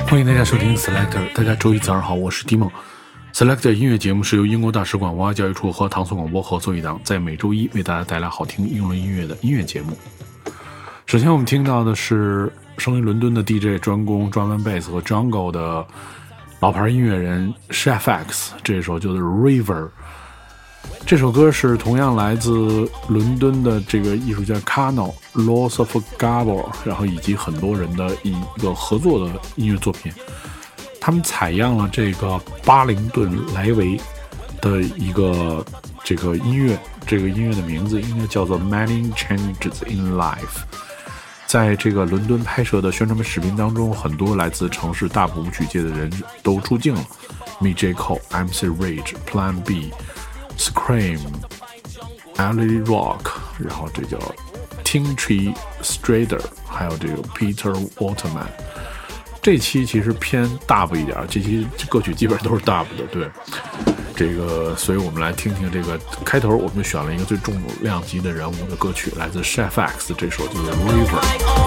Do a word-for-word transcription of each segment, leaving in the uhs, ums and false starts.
欢迎大家收听 Selector， 大家周一早上好，我是 Dimon。Selector 音乐节目是由英国大使馆文化教育处和唐宋广播合作一档，在每周一为大家带来好听英伦音乐的音乐节目。首先我们听到的是生于伦敦的 D J 专攻 Drum and Bass 和 Jungle 的老牌音乐人 Chef X， 这首就是 River。这首歌是同样来自伦敦的这个艺术家 Kano、Loss of Gabor， 然后以及很多人的一个合作的音乐作品。他们采样了这个巴灵顿莱维的一个这个音乐，这个音乐的名字应该叫做 Many Changes in Life。在这个伦敦拍摄的宣传视频当中，很多来自城市大部舞曲界的人都出镜了 ，Me J Cole、M C Rage、Plan B、Scream、Ali Rock， 然后这叫 Tim Tree Strader， 还有这个 Peter Waterman。这期其实偏 dub 一点，这期歌曲基本上都是 dub 的，对。这个，所以我们来听听这个开头，我们就选了一个最重量级的人物的歌曲，来自 Chef X， 这首就是 River。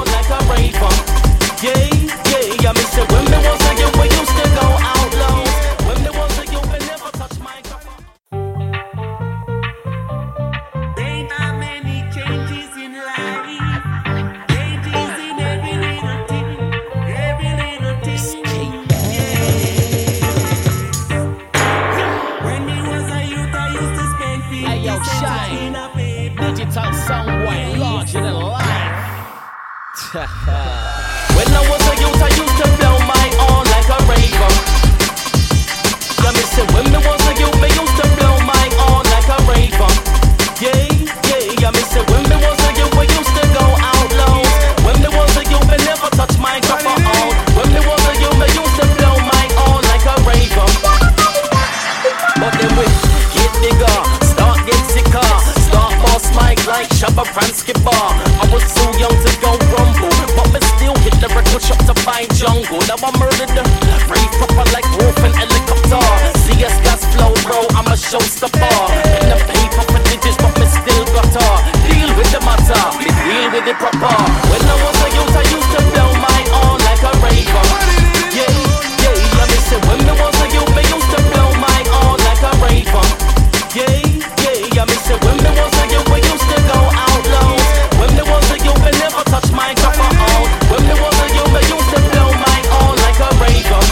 When I was a youth, I used to blow my own like a raver. Yeah, me say when me was a youth, me used to blow my own like a raver. Yeah, yeah, yeah, me say when me was a youth, we used to go out low. When me was a youth, me never touch my microphone. When me was a youth, me used to blow my own like a raver. But then we get bigger, start get sicker, start boss mic like Shabba Pransky Bar. I was too young to go rumble, but me still hit the record shop to find jungle. Now I murdered the rave proper like wolf and helicopter. C S gas flow, bro, I'm a showstopper. In the paper for digits, but me still got her. Deal with the matter, me deal with it proper. When I was a youth, I used to blow my own like a raver. Yeah, yeah, yeah, me say when me was a youth, me used to blow my own like a raver. Yeah, yeah, yeah, me say when me was a youth, we used to go out low. When me was a youth, me never touch my microphone. When me was a youth, me used to blow my own like a raver.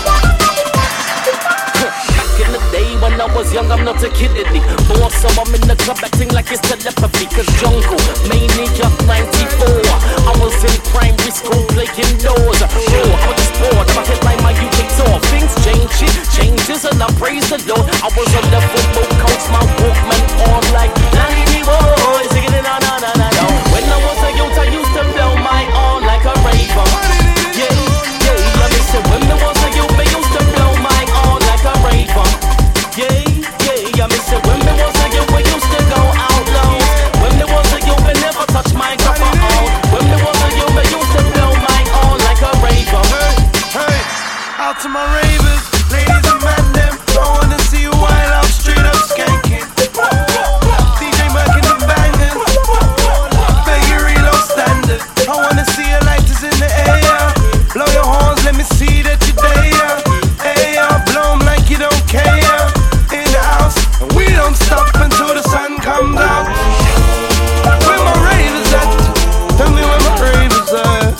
Back in the day when I was young, I'm not a kid in it. More so I'm in the club acting like it's telepathy. Cause jungle, maniac ninety-four. I was in primary school playing doors. Sure, I was just bored, I'm a headline my U K tour. Things change, shit changes and I praise the Lord. I was on the football coach, my Walkman on like ninety boys. Singing it on, on, on, on. When I was a youth, I used to blow my own like a raver. Yeah, yeah, yeah, me say when me was a youth, me used to blow my own like a raver. Yeah, yeah, yeah, me say when me was a youth, we used to go out low. When me was a youth, me never touch my microphone. When me was a youth, me used to blow my own like a raver. Hey, hey, out to my ravers, ladies and men, them. I wanna see you wild out, straight up skanking. D J marking the bangers, beg you reload standard. I wanna see your lighters in the air. Blow your horns, let me see that you're there. Hey, blow 'em like you don't care. In the house, and we don't stop until the sun comes out. Where my ravers at? Tell me where my ravers at.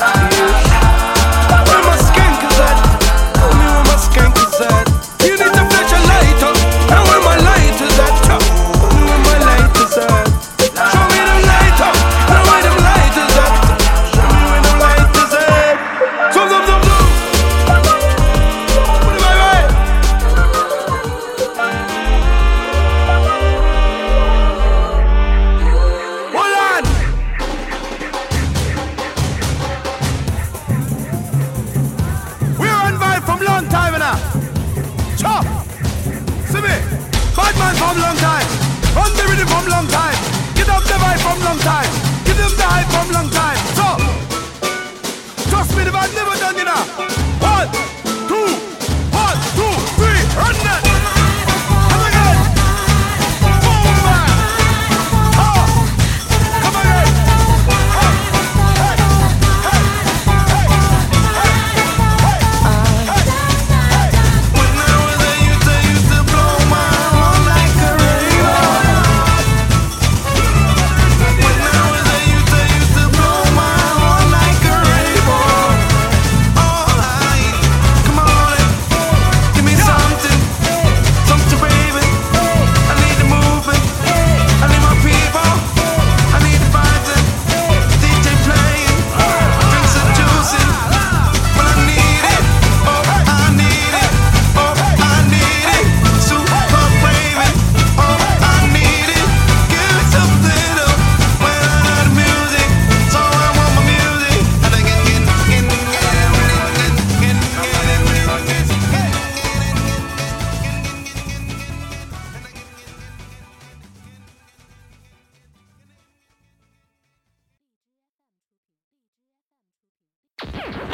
Where my skankers at? Tell me where my skankers at. You need to flash a light up. And where my light is at? Tell me where my light is at. Show me them light up. And where them light is at? Show me where them light is at. Zoom, zoom, zoom, zoom. Put it my way. Hold on. We're on vibe from long time now. Chop. See me. Bad man from long time. On the rhythm from long time. Get up the vibe from long time. Give them the hype from long time. So, trust me, the band never done, you know. One, two, one, two, three, run that. Come again. Boom, man. Oh. Come again. Oh. Hey, hey, hey, hey, hey.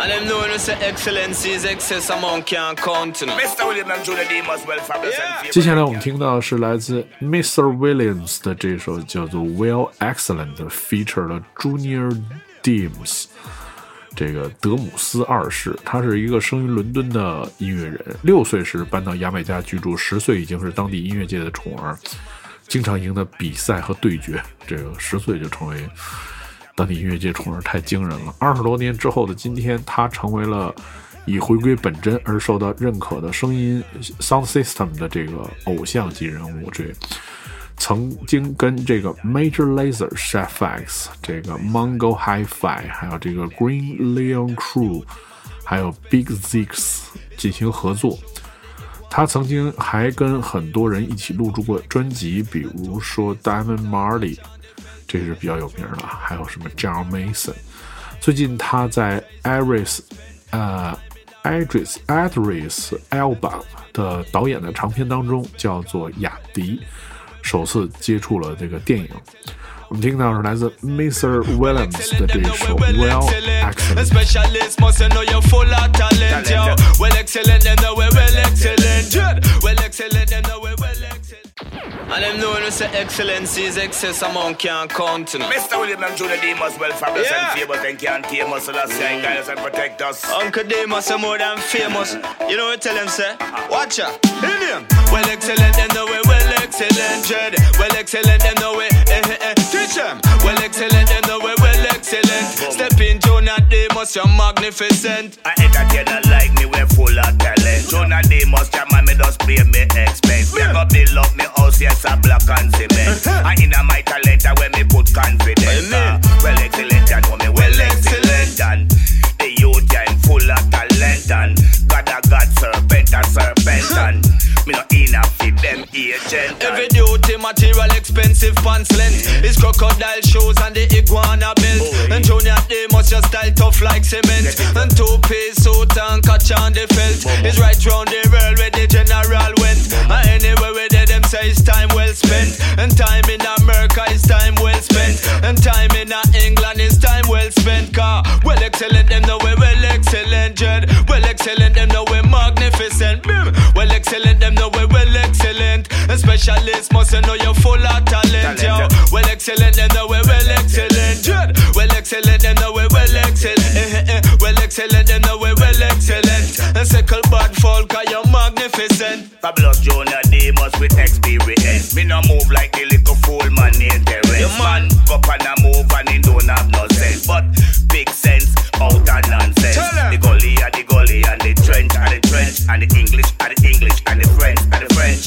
And them know when say excellence is excess amount can't count. Mister Williams and Julia Demus, well fabulous and 接下来我们听到的是来自 Mister Williams 的这首叫做 Well Excellent， feature 了 Junior Demus， 这个德姆斯二世。他是一个生于伦敦的音乐人，六岁时搬到牙买加居住，十岁已经是当地音乐界的宠儿，经常赢得比赛和对决。这个十岁就成为当地音乐界宠儿，太惊人了。二十多年之后的今天，他成为了以回归本真而受到认可的声音 Sound System 的这个偶像级人物。这曾经跟这个 Major Lazer、Chef X、这个 Mongo Hi-Fi， 还有这个 Green Leon Crew， 还有 Big Zix 进行合作。他曾经还跟很多人一起录制过专辑，比如说 Diamond Marley， 这是比较有名的，还有什么 John Mason。最近他在 Iris 呃 Idris Idris Elba 的导演的长片当中，叫做雅迪，首次接触了这个电影。我们听到是来自 Mister Williams 的这一首 Well Excellent。 Specialist must know you're full of talent, yo. Well excellent, them know we're well excellent. Well excellent, them know we're well excellent. And them know when we say excellence is excess amount can't count. Mister Williams and Julia Demus, well fabulous Yeah. and famous and can't tame us, so that's saying guide us and protect us. Uncle Demus are more than famous. You know what tell them say? Watch ya. In him. Well excellent, them know we're well excellent. Dread. Well excellent, them know we eh eh eh. Teach them. Well excellent, them know we're well excellent. Step in Jonah Demus, you're magnificent. I entertainer like me, we're full of talent. Jonah Demus, your man, me just play me expense. Me go build up me house, yes, a block and cement. I in a my talent, when me put confidence. Uh, well excellent, and know me well excellent. And the youth, yeah, full of talent. And God a God, serpent a serpent. And me no in a fit them agent. Every duty material expensive pants length. His crocodile shoes and the iguana belt. And Junior Demus just style tough like cement. And two-piece suit and catch on the felt. He's right round the world where the general went. And anywhere where they them say it's time well spent. And time in America is time well spent. And time in England is time well spent. Car well excellent, them know we're well excellent. Jed. Well excellent, them know we're magnificent. Bim. Well excellent, them know we're well excellent. And specialists must know you're full of talent, yo. Well excellent, them know we're well excellent. Jed. Well excellent, them know we're well excellent. Eh, eh, eh. Well excellent, them know we're well excellent. And sickle bad folk, are you magnificent? Fabulous Jonah Demus with experience. Me no move like the little fool man in the rest. Yeah, man. Go up and a move and he don't have no sense. But big sense out of nonsense. Tell 'em. The gully and the gully and the trench and the trench and the English and the English and the French and the French.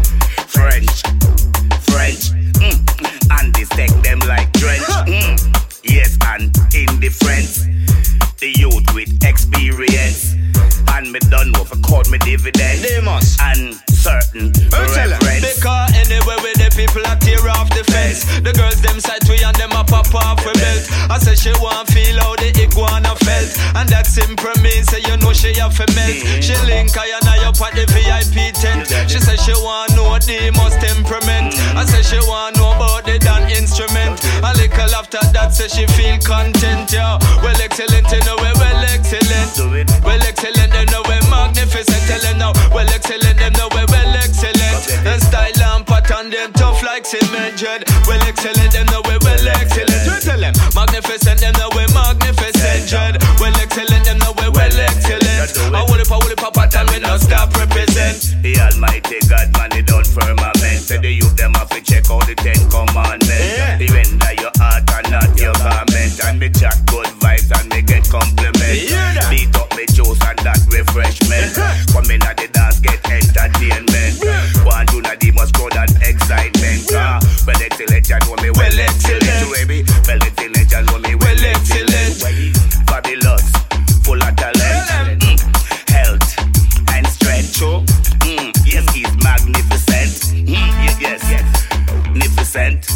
French. French. Mm. And they stack them like drench. Mm. Yes, and indifference. The youth with experience. And me done know for cut me dividends. Demus. And certain reverence. Because anywhere with the people a tear off the fence. The girls them side we and them a pop off with belt. I say she want feel how the iguana felt. And that simple means say you know she have to melt. She link I and I up at the V I P tent. She say she want know the most temperament. I say she want know about the dan instrument. A little after that say she feel content, yo. Well excellent, you know we well excellent. Well excellent, them know we magnificent. Tell them now, well excellent, them know we well excellent. And style and pattern them tough like cement, dread. Well excellent, them know we well excellent. We tell them magnificent, them know we magnificent, dread. Well excellent, them know we well excellent. I will it, I will it, pattern we no stop represent. The Almighty God man, he done firmament. Say the youth them have to check out the Ten Commandments. Yeah. The render your heart and not your garment. And me chat good vibes and me get compliments. Yeah. Beat up me juice and that refreshment. Come in at the dance, get entertainment. One do not Demus crowd and excitement. Ah, well excellent, you know me well Well excellent, excellent. baby. Well excellent, you know me well Well excellent. excellent. Fabulous, full of talent. Mm. Health and strength. Mm. Yes, he's magnificent. Mm. Yes, yes, yes. Magnificent.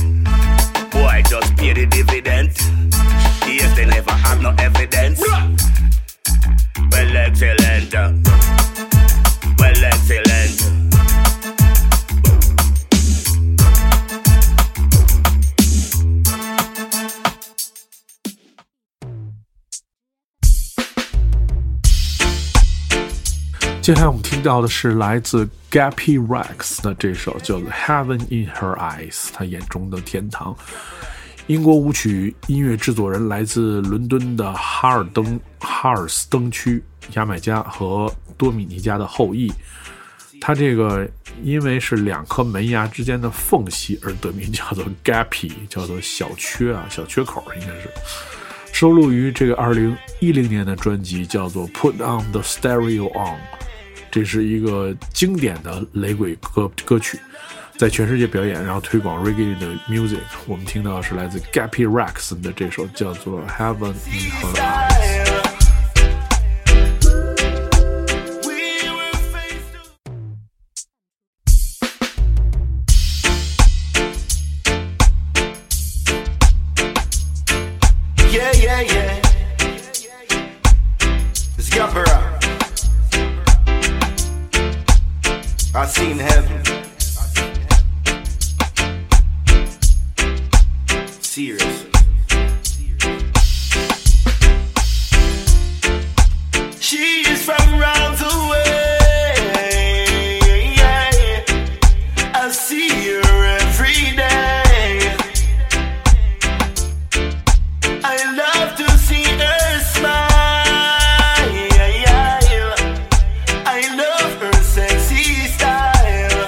接下来我们听到的是来自 Gappy Rex 的这首叫做 Heaven in Her Eyes， 他眼中的天堂。英国舞曲音乐制作人来自伦敦的哈尔登哈尔斯登区牙买加和多米尼加的后裔，他这个因为是两颗门牙之间的缝隙而得名，叫做 Gappy， 叫做小缺啊，小缺口应该是。收录于这个二零一零年的专辑叫做 Put on the Stereo On， 这是一个经典的雷鬼歌歌曲，在全世界表演，然后推广 reggae 的 music。 我们听到的是来自 Gappy Rex 的这首叫做 Heaven in Her Eyes。I seen heaven. Seriously. She is from round the way. I see her every day. I love to see her smile. I love her sexy style.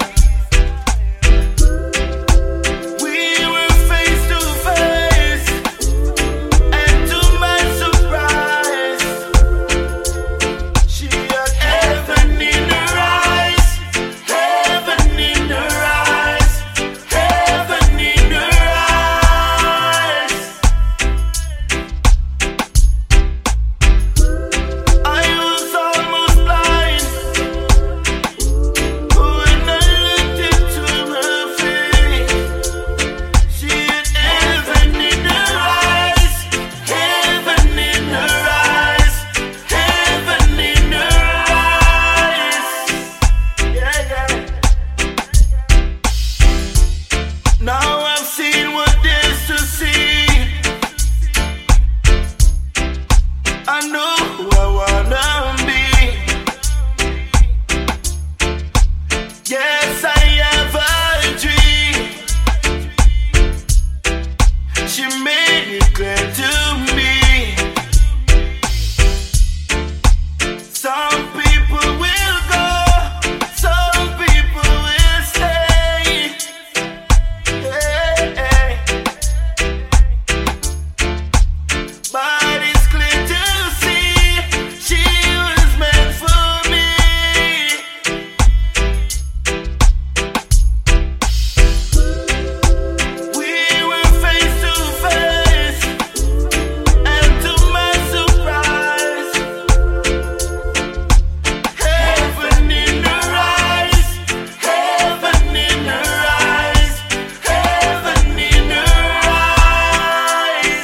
We were face to face, and to my surprise, she had heaven in her eyes, heaven in her eyes, heaven in her eyes. I was almost blind when I looked into her face. She had heaven in her eyes, heaven in her eyes, heaven in her eyes. Yeah, yeah. Now I've seen what there's to see. I know who I wanna be. Yes, I have a dream. She made it clear to me. Some people will go, some people will stay. Hey, hey. But it's clear to see she was meant for me. We were face to face, and to my surprise, heaven in her eyes, heaven in her eyes, heaven in her eyes.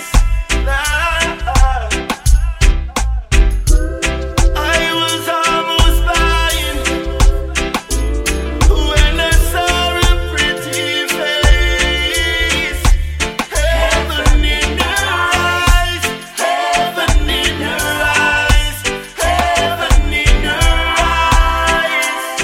I was almost blind when I saw her pretty face. Heaven in her eyes, heaven in her eyes, heaven in her eyes.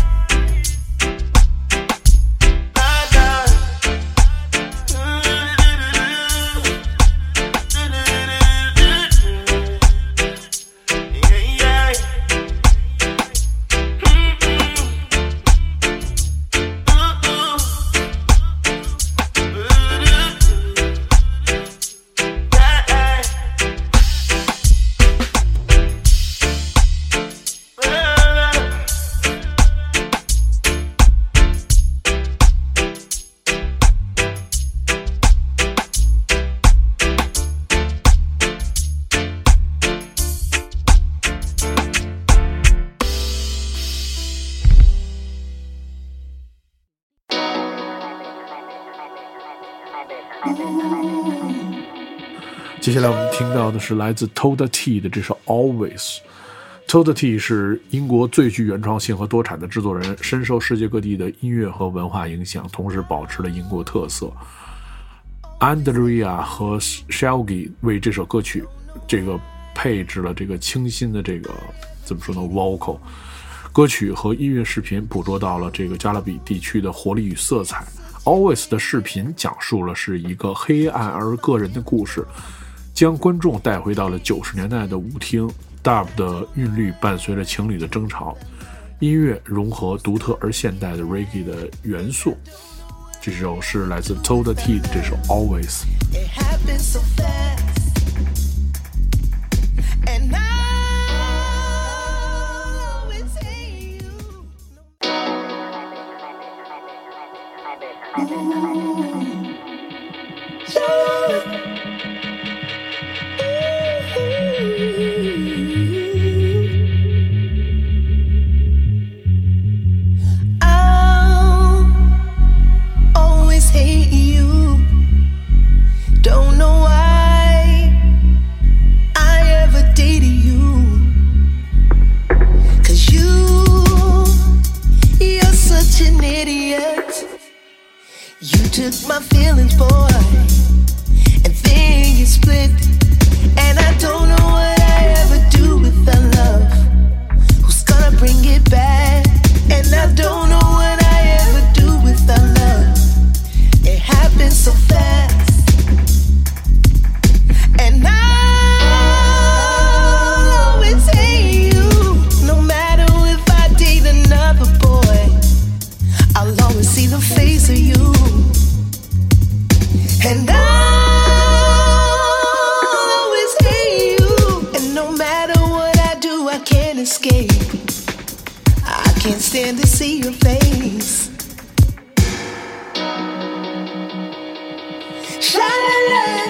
Eyes。接下来我们听到的是来自 Toda T 的这首 Always。Toda T 是英国最具原创性和多产的制作人，深受世界各地的音乐和文化影响，同时保持了英国特色。Andrea 和 Shelgi 为这首歌曲这个配置了这个清新的这个怎么说呢 vocal， 歌曲和音乐视频捕捉到了这个加勒比地区的活力与色彩。Always 的视频讲述了是一个黑暗而个人的故事，将观众带回到了九十年代的舞厅。Dub 的韵律伴随着情侣的争吵，音乐融合独特而现代的 Reggae 的元素。这首是来自 Toda T 的这首 Always。 It happened so fast, and I always hate you. I'll always hate you. Don't know why I ever dated you. 'Cause you, you're such an idiot. You took my feelings, boy, and then you split. And I don't know what I ever do with that love. Who's gonna bring it back? And I don't know what I ever do with that love. It happened so fast. And I'll always hate you. No matter if I date another boy, I'll always see the face of you. And I'll always hate you. And no matter what I do, I can't escape. I can't stand to see your face. Sha-la-la.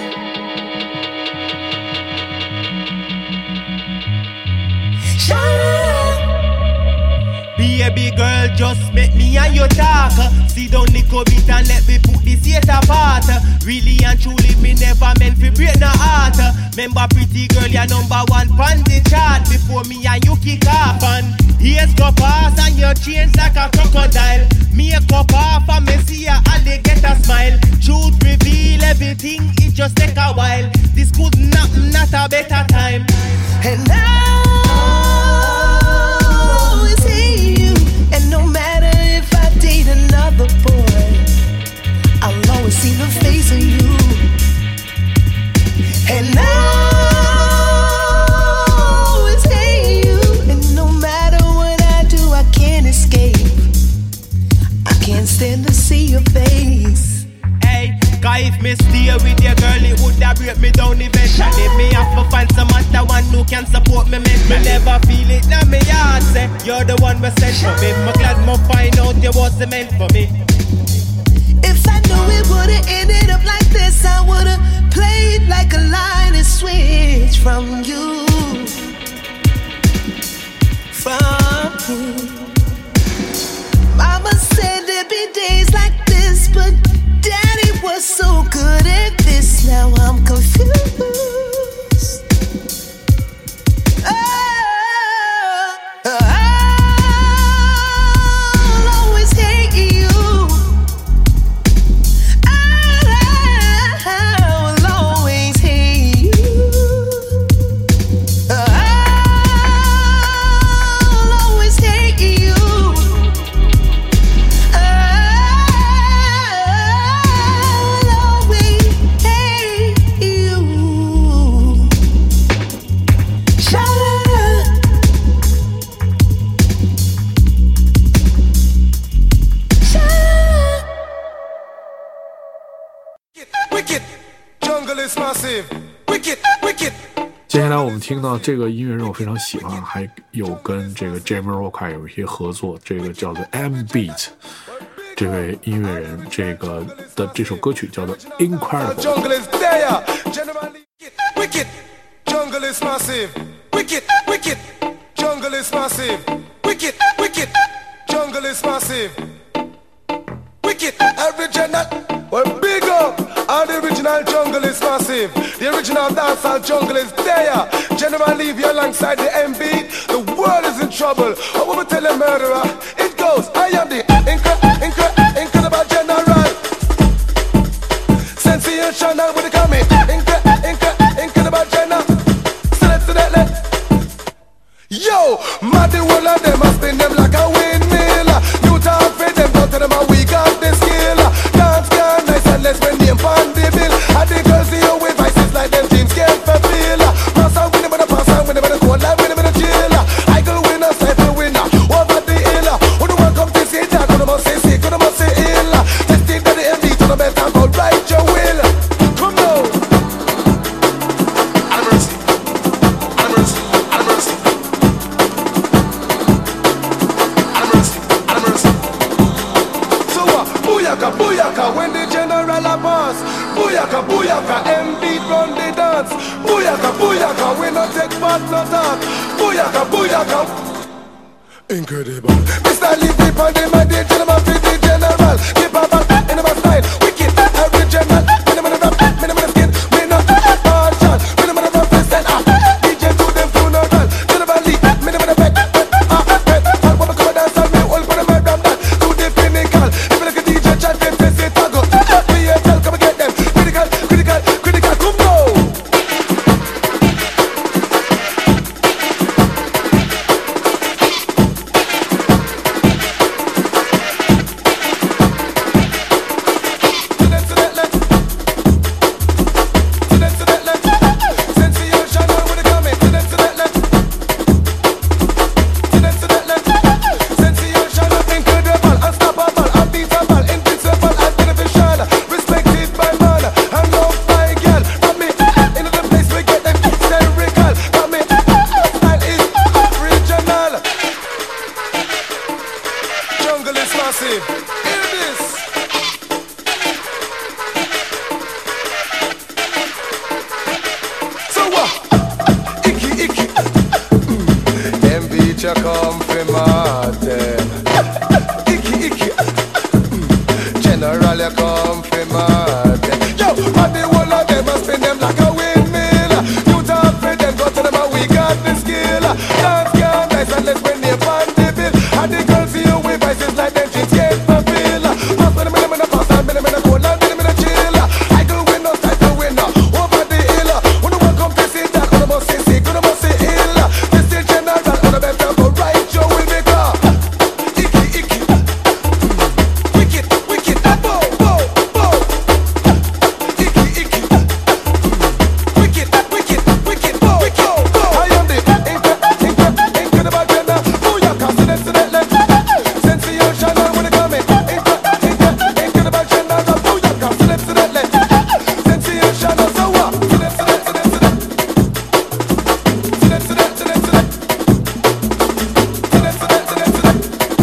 Baby girl, just make me and you talk. Sit down the bit and let me put this yet apart. Really and truly, me never meant to break no heart. Remember, pretty girl, you're number one on the chart. Before me and you kick off, and years go past and you change like a crocodile. Make up off and me see a alligator smile. Truth reveal everything, it just take a while. This could not, not a better time. And I'll always hate you. And no matter if I date another boy, I'll always see the face of you. And I'll always hate you. And no matter what I do, I can't escape. I can't stand to see your face. Hey, cause if me stay with your girl, it would have break me down eventually. Me have to find some other one who can support me mentally. Me never feel it now me heart say you're the one we sent for me. Me glad me find out you wasn't meant for me. If I knew it would've ended up like this, I would've played like a line and switch from you. From you. Mama said there'd be days like this, but Daddy was so good at this. Now I'm confused. Oh, I'll always hate you. I'll always hate you. I'll always hate you. I'll always hate you. Sha-la-la. Sha-la-la. Wicked, jungle is massive. Wicked, wicked. 接下来我们听到这个音乐人我非常喜欢，还有跟这个 Jamiroquai 有一些合作，这个叫做 M Beat 这位音乐人，这个的这首歌曲叫做 Incredible。 Jungle is there. Generally, wicked, jungle is massive. Wicked, wicked, jungle is massive. Wicked, wicked, jungle is massive. Wicked, original. Well, big up. And the original jungle is massive. The original dancehall jungle is there. General leave you alongside the M B. The world is in trouble. What will we tell a murderer? It goes, I am the incre- incre- incredible general. Sensational with the coming. Incre- incre- incredible general. Select, select, let. Yo, mad the world of them must be spin them like a windmill. You talk for them, go to them and we got the skill. Dance gone nice and let's bring name on the bill. And the girls see you with vices like them dreams can't fulfill. Pass on with them and a pass on with them and a cold life with them and a chill. I go winner, cycle winner, over the hill. Who the one come to see that? Who the must say sick, who the must say ill. Just think that the M D to the best and go right your will. Come now. Have mercy, have mercy, have mercy. Have mercy, have mercy. So uh, booyaka, booyaka, when the general a boss. Booyaka, booyaka, M beat run the dance. Booyaka, booyaka, we no take part, no talk. Booyaka, booyaka. Incredible. Mister Levy on the man, the gentleman fit the general. Keep a back in my style. Wicked, original. Minimum of rap, minimum of skin. We no partial. Minimum of represent. D J to them funeral. General Lee, minimum of back. Ah, back. All women come and dance on me. All for the murder of that. To the pinnacle. If you look at D J, chat, them face it, tago. P S L, come and get them. Critical, critical, critical. Come go. Come from Martin. Icky, icky. General, you come from Martin. Yo, and the whole of them must spin them like a windmill. You talk for them, go to them and we got the skill. Dance gone nice and let's bring them on the bill. And the girls see you with vices like them jeans can't fulfill. Pass with them in the pass and them in the cold and them in the chill. I go win, no style to win. Over the hill. When the one come to see that, when the must say sick, when the must say ill. This is general, when the best go right, you will make up. Icky, icky. Wicked, wicked. Bow, bow, bow. Icky, icky. Wicked, wicked, wicked. Bow, bow, bow. I am the incredible, incredible gender. Booyaka, so that's that left. Sensational when it come in. Incredible gender. Booyaka, so that's that left. Sensational, so what? So that's that, so that's that. So that's that, so that's that. So that's that, so that's that.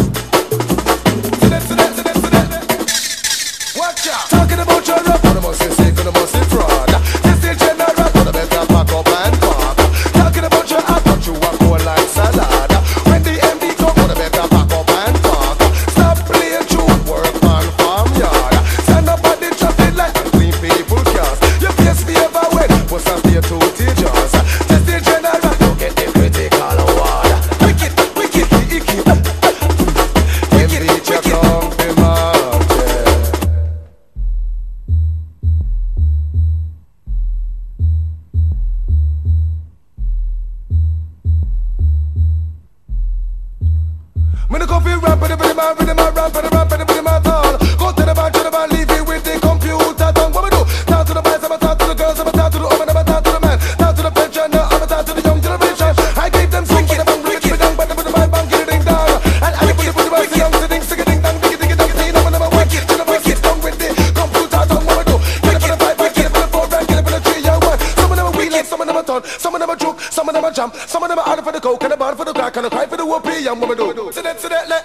So that's that, so that's that. Watch out. Talking about your rap, on the most sick, on the most fraud. This is general, on the better pack up and park. Talking about your act, but you are cold like salad. When the M D come, on the better pack up and park. Stop playing tune, work on farmyard. Stand up at the traffic light and clean people cars. Your face be ever wet, but some stay to teachers. This is general, don't get the critical award. Wicked, wicked, icky. Wicked, wicked. Come from Martin. When the coffee ramp, but the body man, with the man ramp, but the ramp, but the body man tall. Go to the bar, to the bar, leave it with the computer tongue. What we do? Talk to the boys, I'ma talk to the girls, I'ma talk to the woman, I'ma talk to the man. Talk to the pensioner, I'ma talk to the young generation. I gave them some with the bang, with the bang, but the bang, bang, get it ding dong. And I put the body man, the young, the ding, sing it ding dong, diggy, diggy, dong, ding, I'm gonna wicked. To the boys, tongue with the computer tongue. What we do? Get it for the five, get it for the four, get it for the three, yeah, one. Some of them are wheeling, some of them are turn, some of them are juke, some of them are jump, some of them are out for the coke, and a bar for the crack, and a cry for the whoopee, and what we do? So that, so that, let.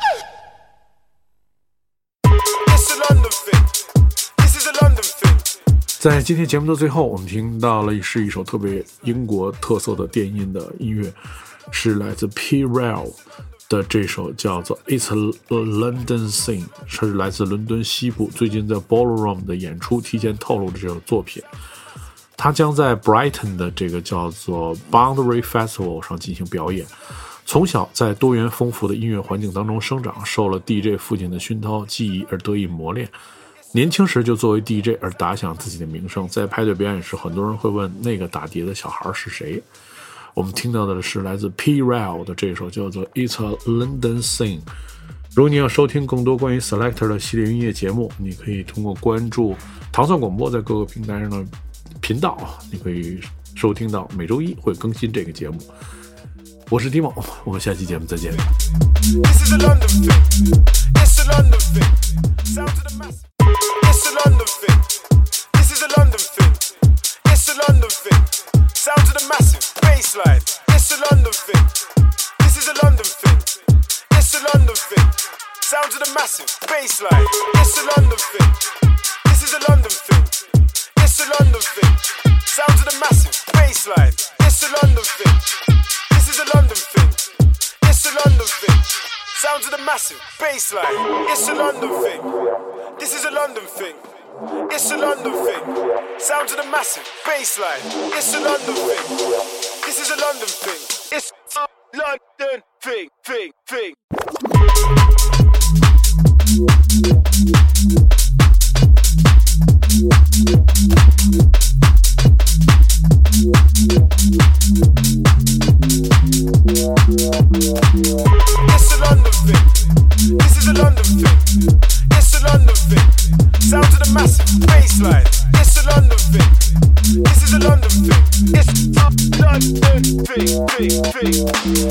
This is a London thing. This is a London thing. 在今天节目的最后，我们听到了是一首特别英国特色的电音的音乐，是来自 P. Rell 的这首叫做 It's a London Thing， 是来自伦敦西部最近在 Ballroom 的演出提前透露的这首作品。他将在 Brighton 的这个叫做 Boundary Festival 上进行表演。从小在多元丰富的音乐环境当中生长，受了 D J 父亲的熏陶技艺而得以磨练。年轻时就作为 D J 而打响自己的名声，在派对表演时，很多人会问那个打碟的小孩是谁。 我们听到的是来自 P-Rail 的这首叫做 It's a London Thing。如果你要收听更多关于 Selector 的系列音乐节目，你可以通过关注糖蒜广播在各个平台上的频道，你可以收听到每周一会更新这个节目。我是 Timo， 我们下期节目再见。 This is a London thing. It's a London thing. Sound to the mass. It's a London thing. This is a London thing. It's a London thing. Sound to the massive bassline. It's a London thing. This is a London thing. It's a London thing. Sound to the massive bassline. It's a London thing. This is a London thing. It's a London thing. Sound to the massive bassline. It's a London thing. This is a London thing. It's a London thing. Sound to the massive bassline. It's a London thing. This is a London thing. It's a London thing. Sound to the massive bassline. It's a London thing. This is a London thing. It's a London thing, thing, thing. It's a London thing. This is a London thing. It's a London thing. Sound to the massive bassline. It's a London thing. This is a London thing. It's a London thing, thing, thing.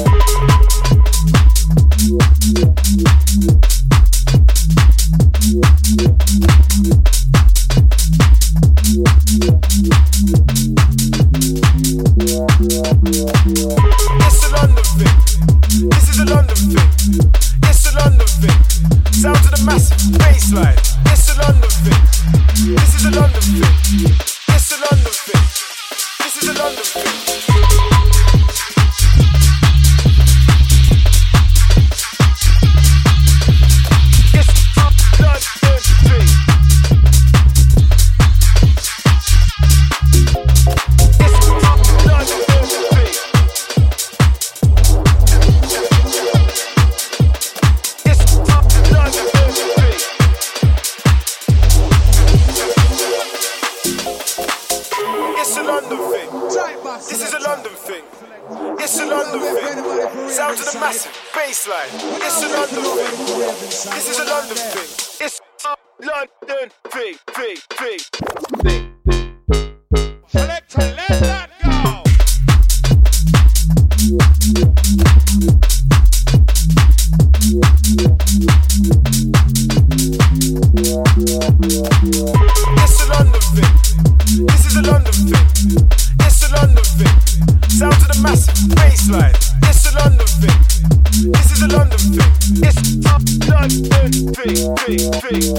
It's a London thing. This is a London thing. It's a London thing. Sound to the massive bassline. It's a London thing. This is a London thing. It's a London thing. This is a London thing. Sound to the massive bassline. It's a London thing. This is a London thing. It's a London thing, thing, thing, thing. Selector, let that go. It's a London thing. This is a London thing. It's a London thing. Sound to the massive bassline. It's a London thing. This is a London thing. It's a London thing, thing, thing.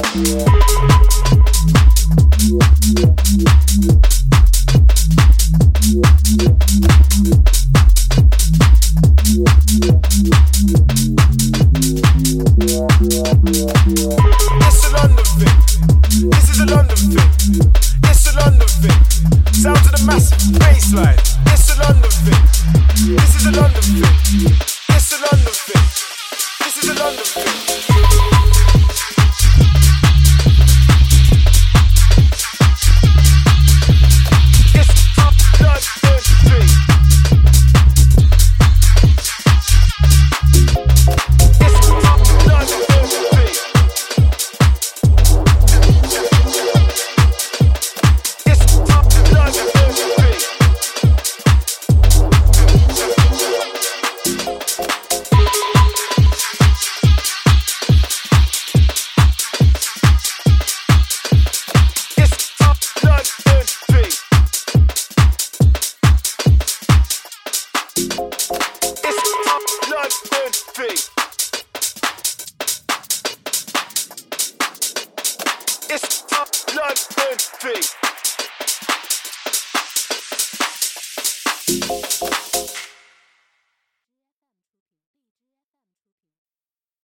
It's a London thing. This is a London thing. It's a London thing. Sound to the massive bassline. It's a London thing. This is a London thing. It's a London thing. This is a London thing. It's a London thing.